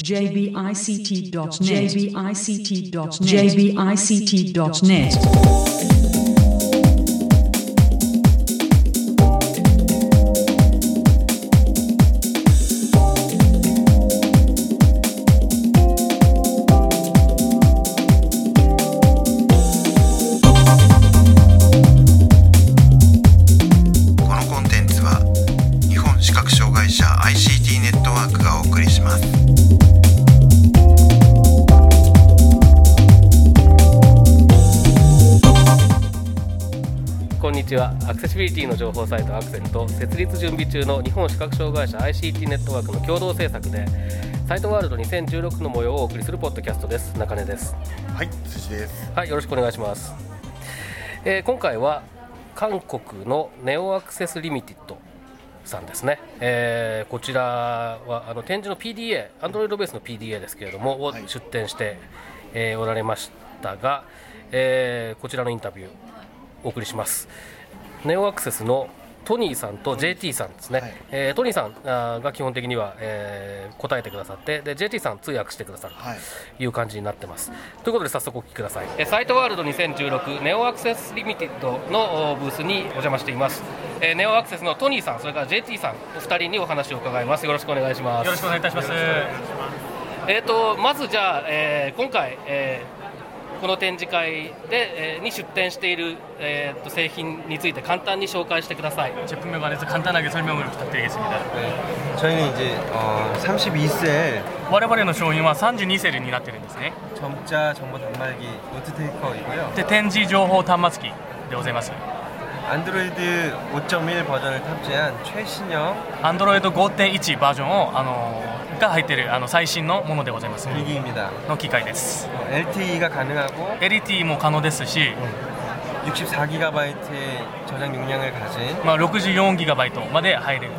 jbict.net こんにちは。アクセシビリティの情報サイトアクセルと設立準備中の日本視覚障害者 ICT ネットワークの共同制作でサイトワールド2016の模様をお送りするポッドキャストです。中根です。 はい、辻です。 はい、よろしくお願いします。今回は韓国のネオアクセスリミティッドさんですね。こちらは展示の PDA、Android ベースの PDA ですけれども、を出展して、おられましたが、こちらのインタビューお送りします。ネオアクセスのトニーさんと JT さんですね。トニーさんが基本的には、答えてくださって、で JT さん通訳してくださるという感じになってます。ということで早速お聞きください。サイトワールド2016ネオアクセスリミティッドのブースにお邪魔しています。ネオアクセスのトニーさん、それから JT さんお二人にお話を伺います。よろしくお願いします。 よろしくお願いいたします。 まずじゃあ、今回、この展示会で、に出展している、製品について簡単に紹介してください。 제품에 관해서 간단하게 설명을 부탁드리겠습니다. 저희는 이제 32셀 我々の商品は32セルになっているんですね。 점자 정보 단말기 노트 테이커이고요. で展示情報端末機でございます。 안드로이드 5.1 버전을 탑재한 최신형 Android 5.1 バージョンをが入っている最新のものでございます。 기기입니다. の機械です。 LTE가 가능하고 LTE も可能ですし、 64GB의 저장 용량을 가진 64GB まで入れる。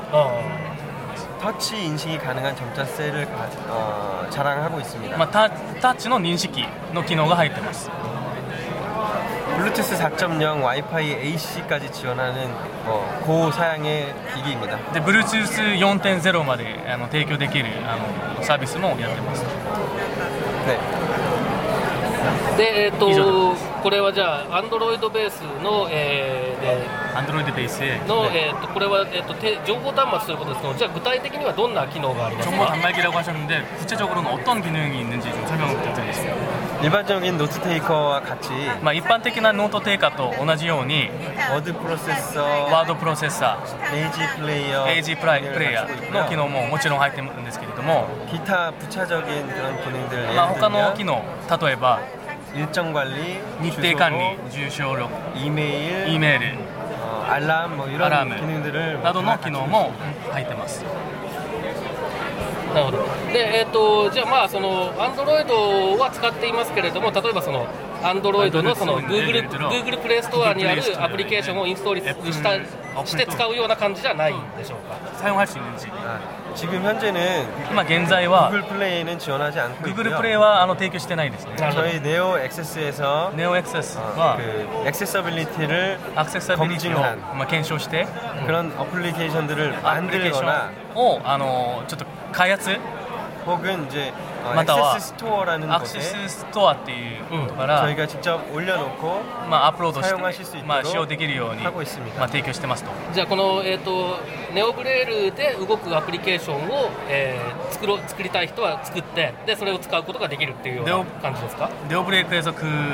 터치 인식이 가능한 점자 셀을 자랑하고 있습니다. タッチの認識の機能が入っています。 블루투스 4.0 와이파이 AC까지 지원하는 고사양의 기기입니다. で Bluetooth 4.0 まで提供できるサービスもやってます。 네. で、これはじゃあ Android ベースの、 Android ベースの、これは、情報端末ということですけど、じゃあ具体的にはどんな機能がありますか？ 정보 단말기라고 하셨는데 구체적으로는 어떤 기능이 있는지 좀 설명을 부탁드리겠습니다. 일반적인 노트 테이커와 같이 一般的なノートテイカーと同じように 워드 프로세서, ワードプロセッサページプレイヤー、 ー、ページプレイヤーの機能ももちろん入っているんですけれども、 기타 부차적인 그런 기능들 他の機能、例えば 일정 관리, 日程管理、住所録、 이메일, Eメール、 알람 뭐 이런 アラーム 기능들을 などの機能も入ってます。 なるほど。で、じゃあその Android は使っていますけれども、例えばその Android のその Google プレイストアにあるアプリケーションをインストールして使うような感じじゃないんでしょうか？ 사용할 수 있는지. 지금 현재는 今現在は 구글 플레이는 지원하지 않고 Google 있고요. プレイは提供してないですね。 저희 네오 액세스에서 ネオエクセスは 그 액세서빌리티를 アクセサビリティを 검증한 検証して 그런 어플리케이션들을 アプリケーショ 만들거나 ンをちょっと開発 혹은 이제 または 액세스 스토어라는 アクセ 곳에 スストアっていうことから、 저희가 직접 올려놓고 アップロード 사용하실 し 수 て、 있도록 使用できるように、 하고 있습니다. 提供してますと。 じゃあこの、ネオブレールで動くアプリケーションを、作りたい人は作って、でそれを使うことができるっていうような感じですか？ 네오브레이크에서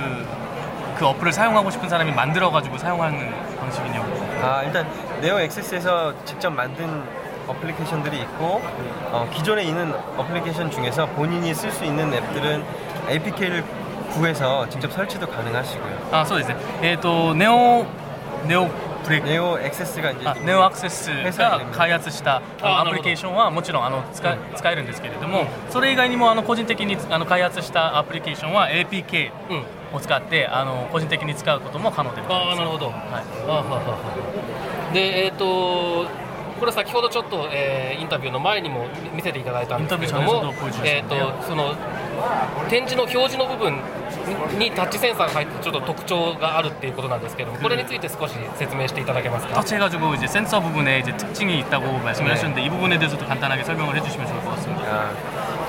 그 어플을 사용하고 싶은 사람이 만들어가지고 사용하는 방식이냐고. 일단 네오 액세스에서 직접 만든 어플리케이션들이 있고 기존에 있는 어플리케이션 중에서 본인이 쓸 수 있는 앱들은 APK를 구해서 직접 설치도 가능하시고요. そうですね。ネオブレイク 네오 액세스가 이제 ネオアクセスが開発したアプリケーションはもちろん使えるんですけれども、それ以外にも個人的に開発したアプリケーションは APK を使って個人的に使うことも可能でございます。 なるほど。はい。で、これ先ほどちょっと、インタビューの前にも見せていただいたんですけれども、その展示の表示の部分にタッチセンサーが入ってちょっと特徴があるっていうことなんですけども、これについて少し説明していただけますか？ 터치해가지고 이제 센서 부분에 이제 특징이 있다고 말씀을 하셨는데 이 부분에 대해서도 간단하게 설명을 해주시면 좋을 것 같습니다.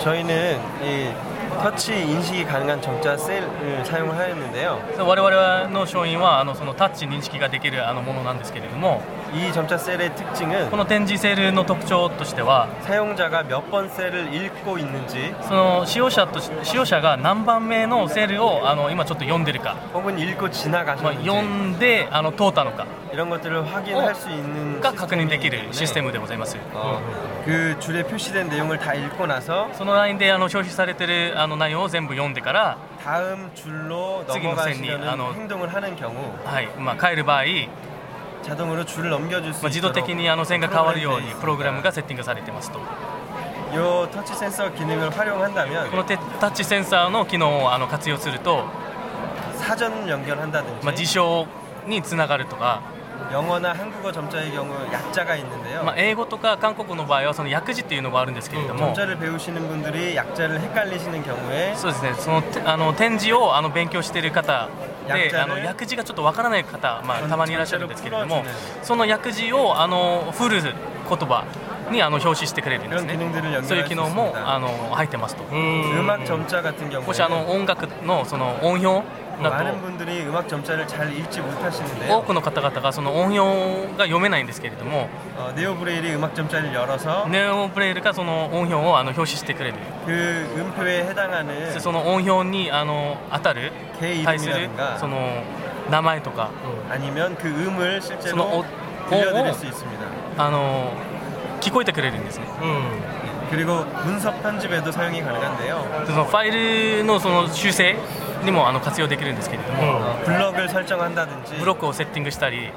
저희는 이 터치 인식이 가능한 점자 셀을 사용을 하였는데요. 我々の商品はそのタッチ認識ができるものなんですけれども、 이 점자 셀의 특징은 この展示セールの特徴としては 사용자가 몇 번 셀을 읽고 있는지 その使用者が何番目のセールを今ちょっと読んでるか、 혹은 읽고 まあ、 지나가셨는지 読んで通ったのか 이런 것들을 확인할 수 있는 が確認できるシステムでございます。 그 줄에 표시된 내용을 다 읽고 나서 そのラインで表示されている内容を全部読んでから 다음 줄로 次の線に 넘어가시려는 행동을 하는 경우 はい帰る場合、 자동으로 줄을 넘겨줄 수 自動 있도록 的に線が変わるようにプログラムがセッティングされていますと。 이 터치 센서 기능을 활용한다면 このタッチセンサーの機能を活用すると、 사전 연결한다든지 辞書につながるとか、 영어나 한국어 점자의 경우 약자가 있는데요. 英語とか韓国の場合はその訳字っていうのがあるんですけれども、 점자를 배우시는 분들이 약자를 헷갈리시는 경우에 そうですね、その展示を勉強している方で訳字がちょっとわからない方、たまにいらっしゃるんですけれども、その訳字をフル言葉に表示してくれるんですね。そういう機能も入ってますと。 음악 점자 같은 もし 경우에는 音楽のその音表だ 많은 분들이 음악 점자를 잘 읽지 と 못하시는데요. 多くの方々がその音表が読めないんですけれども、 네오 브레일이 음악 점자를 열어서 ネオブレイルがその音表を表示してくれる。 그 음표에 해당하는 その音表に当たる 개 対する 이름이라든가 その名前とか 아니면 그 음을 その 실제로 들려드릴 수 있습니다. 聞こえてくれるんですね。 그리고 문서 편집에도 사용이 가능한데요. そのファイルのその修正にも活用できるんですけれども、 블럭을 설정한다든지 ブロックをセッティングしたり、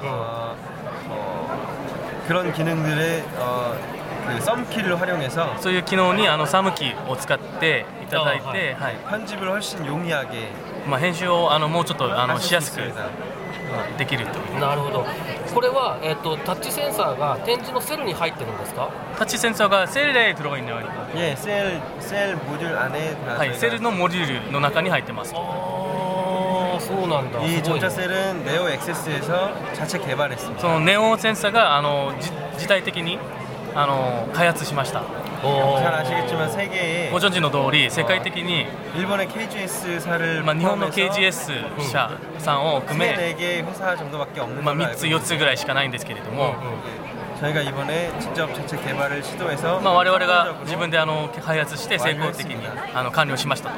그런 기능들의 그 썸키를 활용해서 そういう機能にサムキーを使っていただいて、はい、 편집을 훨씬 용이하게 編集をもうちょっとしやすく 있습니다. できるという。 なるほど。これは、タッチセンサーが展示のセルに入ってるんですか？ タッチセンサーが셀에 들어가 있네요. 예, 셀 모듈 안에 다 はい、セルのモジュールの中に入ってます。 ああ、そうなんだ。 이 すごいね 점자 셀은 네오 액세스에서 자체 개발했습니다. そのネオセンサーが自体的に開発しました。 잘 아시겠지만 세계에 ご存知の通り世界的に、 일본의 KGS사를 日本の KGS 社さんを含め、 4개 회사 정도밖에 없는 3 걸로 알고 つ4つぐらいしかないんですけれども、 저희가 이번에 직접 자체 개발을 시도해서 我々が自分で開発して成功的に完了しましたと。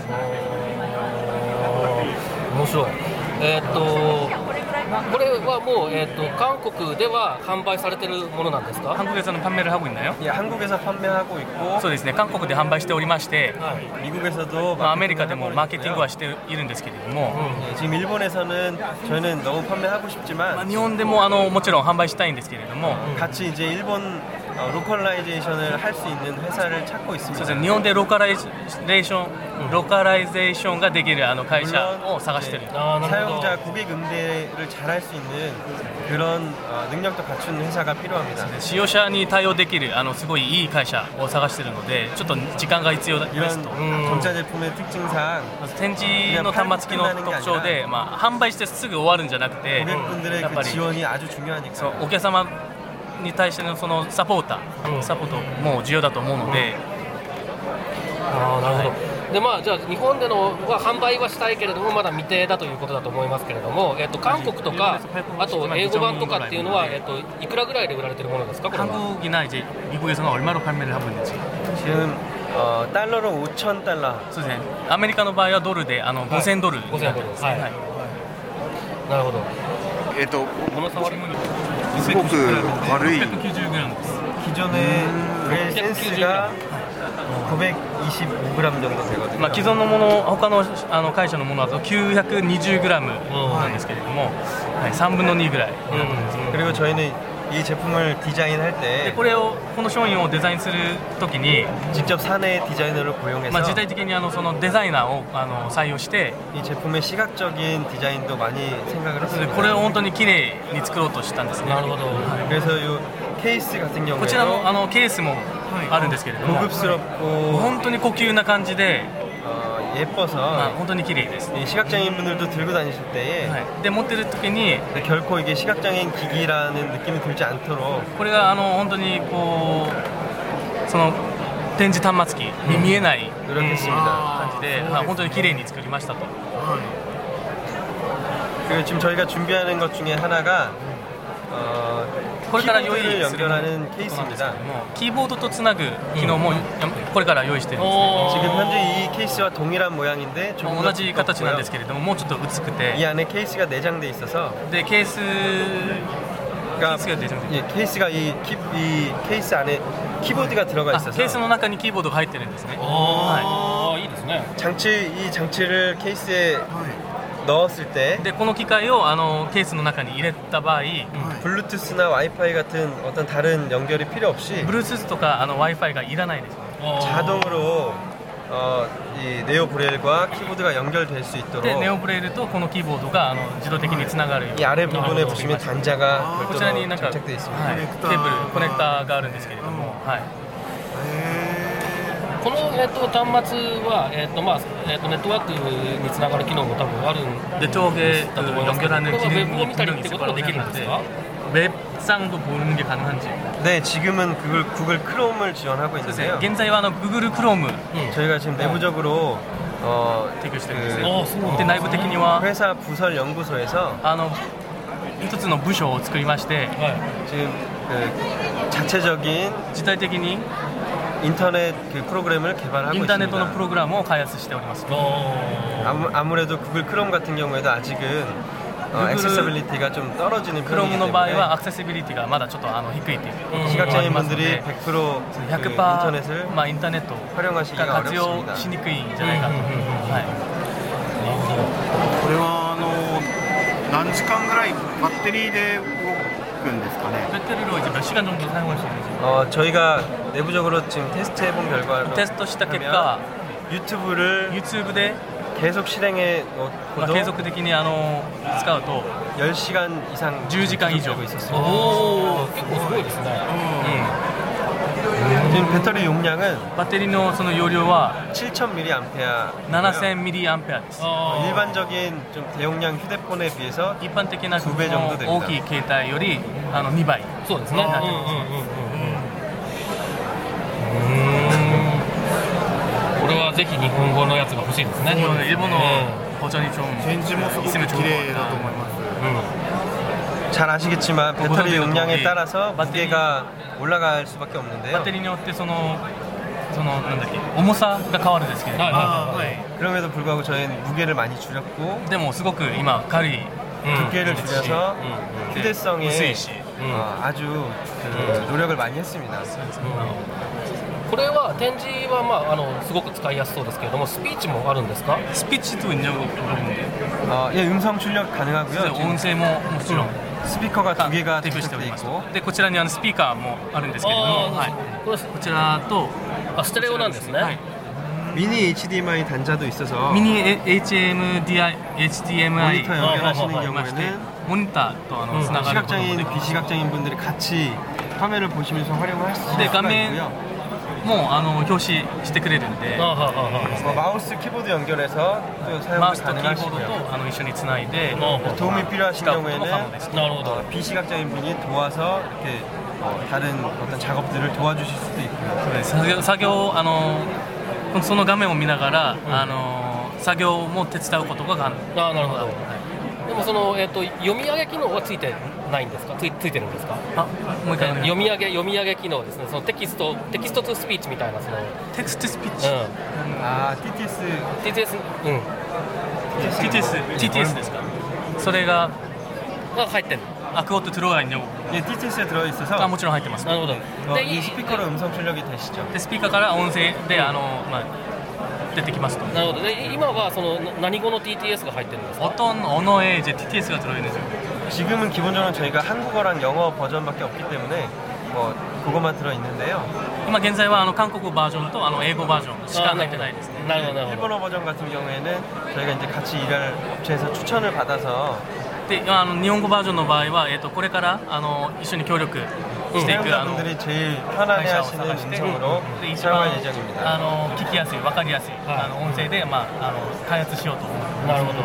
面白い。これはもう、韓国では販売されてるものなんですか？ 한국에서는 판매를 하고 있나요? 예, 한국에서 판매하고 있고 そうですね、韓国で販売しておりまして、 미국에서도 アメリカでもマーケティングはしているんですけれども、 예, 지금 일본에서는 저희는 너무 판매하고 싶지만 日本でももちろん販売したいんですけれども、 같이 이제 일본 로컬라이제이션을 할 수 있는 회사를 찾고 そう 있습니다. ですね、日本でローカライゼーションができる会社を探している。 사용자 고객 응대를 잘할 수 있는 그런 능력도 갖춘 회사가 필요합니다. 使用者に対応できるすごいいい会社を探しているので、ちょっと時間が必要で 이런 すと。 전자제품의 특징상 まず展示の端末機の特徴で、販売してすぐ終わるんじゃなくて、 고객분들의 やっぱ 그 り 지원이 아주 そう 중요하니까요. お客様に対してのそのサポートも重要だと思うので、 ああ、なるほど。でじゃあ日本でのは販売はしたいけれどもまだ未定だということだと思いますけれども、韓国とかあと英語版とかっていうのは、いくらぐらいで売られてるものですか？これは 한국이나 이제 미국에서는 얼마로 판매를 하고 있는지. 지금 달러로 5,000달러. そうですね。アメリカの場合はドルで5000ドルになってます。 はいはい。 なるほど。 物触りもすごく軽い 690g です。 기존의 브레일 센스가 925g 정도 되거든요. 既存のもの、他の会社のものだと 920g なんですけれども、はい、3分の2ぐらいになってます。 그리고 저희는 이 제품을 디자인할 で 때 この商品をデザインするときに、 직접 사내 디자이너를 고용해서 自体的にそのデザイナーを採用して、 이 제품의 시각적인 디자인도 많이 생각을 それで 했습니다. これを本当に綺麗に作ろうとしたんですね。 なるほど。 그래서 이 케이스 같은 こちら 경우에는 のケースもあるんですけれども、 고급스럽고 本当に高級な感じで、 예뻐서 本当に綺麗です。 이 시각장애인분들도 들고 다니실 때에 はい、で持ってる時に 결코 이게 시각장애인 기기라는 느낌이 들지 않도록 これが本当にその展示端末機に見えない 노력했습니다. 感じで、本当に綺麗に作りましたと。 그리고 지금 저희가 준비하는 것 중에 하나가 これから用意 키보드를 するもの 연결하는 케이스입니다. キーボードとつなぐ機能もこれから用意してるんですね。 지금 현재 이 케이스와 동일한 모양인데 조금 同じ形なんですけれども、もうちょっと薄く 이 て、 안에 케이스가 내장돼 있어서 でケース 그러니까 케이스가 내장돼 예, 케이스가 이 케이스 안에 키보드가 들어가 あ 있어서 ケースの中にキーボードが入ってるんですね。 ああいいですね。 이 장치를 케이스에 넣었을 때 でこの機械をケースの中に入れた場合、 블루투스나 와이파이 같은 어떤 다른 연결이 필요 없이 Bluetooth とかWi-Fi がいらないですね。 자동으로 이 네오 브레일과 키보드가 연결될 수 있도록 でネオブレイルとこのキーボードが自動的につながるよう 이 に 아래 부분에 보시면 단자가 こちらに 별도로 なんか、 장착되어 있습니다. はい、ケーブルコネクターがあるんですけれども、はい、 この、端末は、ネットワークにつながる機能も多分あるん 네 쪽에 그 だと思いますけど、 연결하는 これはウェブを 기능이 見たりっ 분명히 て 있을 ことも 거라고 できるんです 생각하는데 か？ 웹상도 보는 게 가능한지. 네, 지금은 구글 크롬을 지원하고 있는데요. 現在はGoogle Chrome 저희가 지금 내부적으로 提供してるんです 그 ね。で内部的には 회사 부설 연구소에서 一つの部署を作りまして、 지금 그 자체적인 自体的に 인터넷 그 프로그램을 개발하고 インターネットの 있습니다. プログラムを開発しております。 아무래도 구글 크롬 같은 경우에도 아직은 액세서빌리티가 좀 떨어지는 クローム 편이기 の場合は 때문에 アクセシビリティがまだちょっと低いっていう 시각장애인 のがありますの 분들이 で 100%그 100% 인터넷을 まあインターネット 활용하시기가 が活用 어렵습니다. しにくいんじゃないかと。はい。 これは何時間ぐらいバッテリーで動くんですかね。 배터리로 이제 몇 시간 정도 사용할 수 있는지 저희가 내부적으로 지금 테스트해본 결과로 테스트した結 하면 果 유튜브를 YouTube で 계속 실행해 まあ 놓고도 継続的に使うと 10시간 이상 10時間以上 되고 있었습니다. おお結構すごいですね。 지금 배터리 용량은 バッテリーのその容量は 7000mAh 7000mAh です。 일반적인 좀 대용량 휴대폰에 비해서 一般的な 2倍정도 됩니다. 大きい携帯より2倍。 そうですね。 なってますこれはぜひ日本語のやつが欲しいですね。 일본어 버전이 좀 展示もすごく 있으면 綺 좋을 것 麗だと 같아요. 思います。 잘 아시겠지만 배터리 고사되는 용량에 거기 따라서 배터리- 무게가 올라갈 수밖에 バ 없는데요. ッテリーによってそのなんだっけ重さが変わるんですけれども、 그럼에도 불구하고 저희는 무게를 많이 줄였고 でもすごく今軽い 두께를 줄여서 휴대성에 薄いし、 아주 그 노력을 많이 했습니다. これは展示はすごく使いやすそうですけれども、スピーチもあるんですか？ 스피치도 있냐고 물어보는데 예, 음성 출력 가능하고요. 지금 音声ももちろん 스피커가 提 두 개가 供してお 장착돼 ります。 있고 でこちらにスピーカーもあるんですけれども、はいこれこちらとステレオなんですね。 はい 미니 HDMI 단자도 있어서 ミニ HDMI 모니터 연결하시는 がありまして 경우에는 モニターとつながることもで 시각장애인, きます。 비시각장애인 분들이 같이 화면을 보시면서 활용을 하실 수가 네, 가면- 있고요. もう表示してくれるんで、 마우스 키보드 연결해서 또 マウ 사용이 スとキーボード 가능하시고요. と一緒につないで 도움이 필요하신 使うことも可能 경우에는 です。 なるほど。 비시각장애인 분이 도와서 이렇게 다른 어떤 작업들을 도와주실 수도 있고요. 作業その画面を見ながら、作業も手伝うことが可能。 なるほど。でもその読み上げ機能はついてないんですか？ついてるんですか？ あ、もう一回読み上げ機能ですね。そのテキストトゥスピーチみたいなそのテクストスピーチ、 TTS TTS TTS ですか。それがが入ってる。 그것도 들어가 있냐고. 예, TTS에 들어 있어서 もちろん入ってます。 なるほど。 이 스피커로 음성 출력이 되시죠. でスピーカーから音声で出てきますと。 なるほど。で今はその何語の TTS が入ってるんですか？ 어떤 언어에 이제 TTS가 들어있는지. 지금은 기본적으로 저희가 한국어랑 영어 버전밖에 없기 때문에 뭐 그것만 들어 있는데요. 今現在は韓国バージョンと英語バージョンしか入ってないですね。 なるほどなるほど。 일본어 버전 같은 경우에는 저희가 이제 같이 일할 업체에서 추천을 받아서 で日本語バージョンの場合はこれから一緒に協力していく 사용자분들이 제일 편안해하시는 음성으로 で一 사용할 番 예정입니다. 聞きやすい分かりやすい音声で開発しようと思います。 なるほど。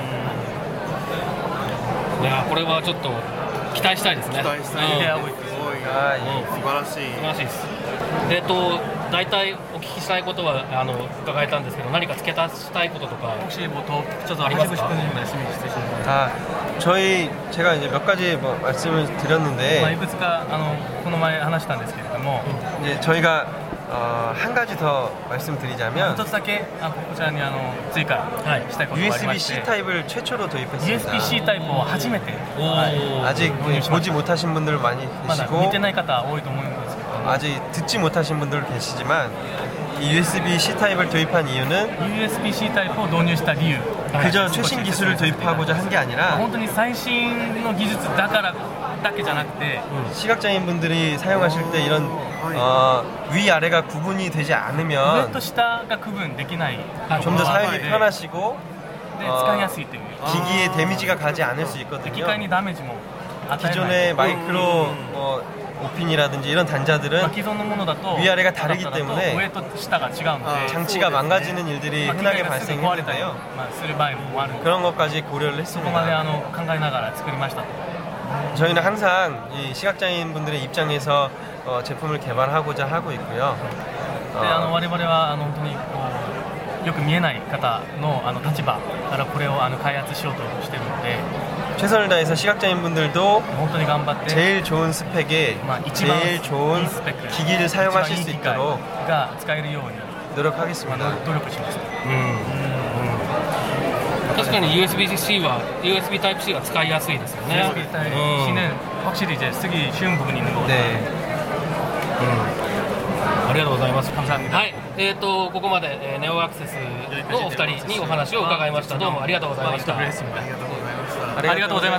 いやこれはちょっと期待したいですね。 期待したいうんいや多いすごいはい素晴らしい素晴らしいです。 大体お聞きしたいことは伺えたんですけど、何か付け足したいこととか 혹시 뭐 더 붙여서 하시고 싶은 말씀이 있으신가요? 제가 이제 몇 가지 뭐 말씀을 드렸는데 いくつかこの前話したんですけれども、 이제 저희가 한 가지 더 말씀드리자면 一つだけこちらに追加したいことがありまして USB-C 타입을 최초로 도입했습니다. USB-C タイプを初めて 아직 보지 못하신 분들 많이 まだ 계시고 見てない方多いと思うんですけども 아직 듣지 못하신 분들 계시지만 이 USB-C 타입을 도입한 이유는 USB-C タイプを導入した理由 그저 최신 기술을 도입하고자 한 게 아니라 本当に最新の技術だからだけじゃなくて 시각장애인 분들이 사용하실 때 이런 위아래가 구분이 되지 上 않으면 と下が区分できない 좀 더 사용이 편하시고 で使いやすいという 기기에 데미지가 가지 않을 수 機 있거든요. 械にダメージも与えない 기존의 마이크로 오핀이라든지 이런 단자들은 既存のものだと 위아래가 다르기 アダプターだと 때문에 上と下が違うので 장치가 망가지는 일들이 機械 흔하게 がすぐ壊れたり 발생했는데요. する場合もある 그런 것까지 고려를 そこまで 했습니다. 考えながら作りましたと 저희는 항상 이 시각장애인 분들의 입장에서 제품을 개발하고자 하고 있고요. で我々は本当によく見えない方の立場からこれを開発しようとしているので 최선을 다해서 시각장애인 분들도 本当に頑張って 제일 좋은 스펙에 一番 제일 い 좋은 いスペック 기기를 一番 사용하실 いい 수 機械 있도록 が使えるように 노력하겠습니다. 努力します。 確かに USB-C は USB Type-C は使いやすいですよね。 USB Type-C는 확실히 이제 쓰기 쉬운 부분이 있는 것 같아요. 네. ありがとうございます。 감사합니다. はい、ここまで、ネオアクセスのお二人にお話を伺いました。どうもありがとうございました。 ありがとうございます。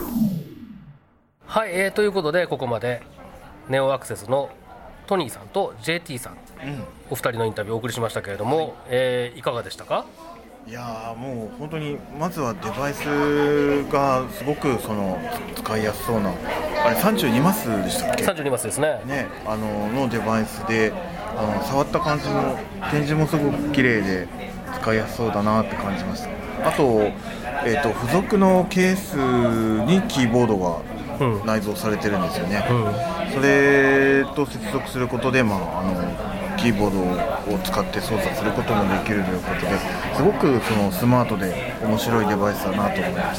はい、ということでここまでネオアクセスのトニーさんと JT さん、お二人のインタビューをお送りしましたけれども、いかがでしたか？ いやーもう本当にまずはデバイスがすごく使いやすそうな、あれ32マスでしたっけ 32マスですね。 ね、のデバイスで触った感じも展示もすごく綺麗で使いやすそうだなって感じました。あと、付属のケースにキーボードが内蔵されてるんですよね、それと接続することで、キーボードを使って操作することもできるということですごくスマートで面白いデバイスだなと思いました。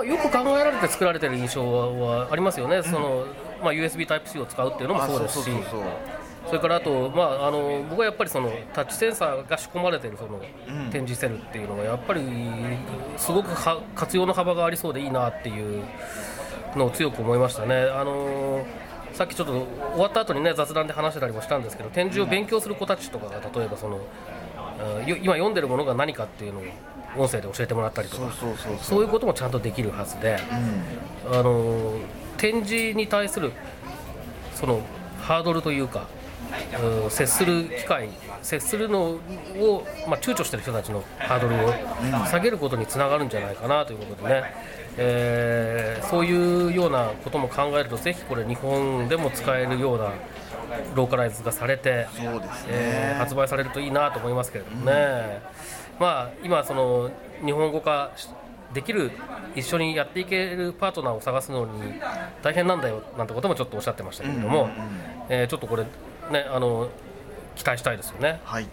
よく考えられて作られている印象はありますよね、USB Type-C を使うっていうのもそうですし、それからあと、僕はやっぱりタッチセンサーが仕込まれている展示セルっていうのはやっぱりすごく活用の幅がありそうでいいなっていうのを強く思いましたね。さっきちょっと終わった後にね雑談で話してたりもしたんですけど、展示を勉強する子たちとかが例えば今読んでるものが何かっていうのを音声で教えてもらったりとか、そういうこともちゃんとできるはずで、展示に対するハードルというか、接する機会、接するのを、躊躇している人たちのハードルを下げることにつながるんじゃないかなということでね、そういうようなことも考えるとぜひこれ日本でも使えるようなローカライズがされて、発売されるといいなと思いますけれどもね、今日本語化できる、一緒にやっていけるパートナーを探すのに大変なんだよなんてこともちょっとおっしゃってましたけれども、ちょっとこれね期待したいですよね。はい、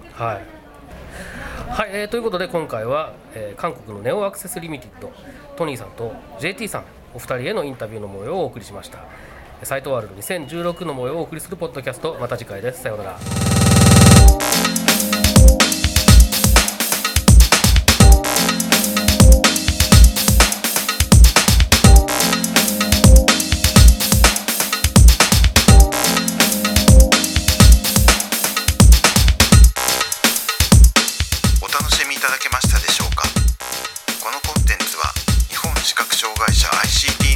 ということで今回は、韓国のネオアクセスリミテッドトニーさんと JT さんお二人へのインタビューの模様をお送りしました。サイトワールド2016の模様をお送りするポッドキャスト、また次回です。さようなら。 お楽しみいただけましたでしょうか。このコンテンツは日本視覚障害者 ICT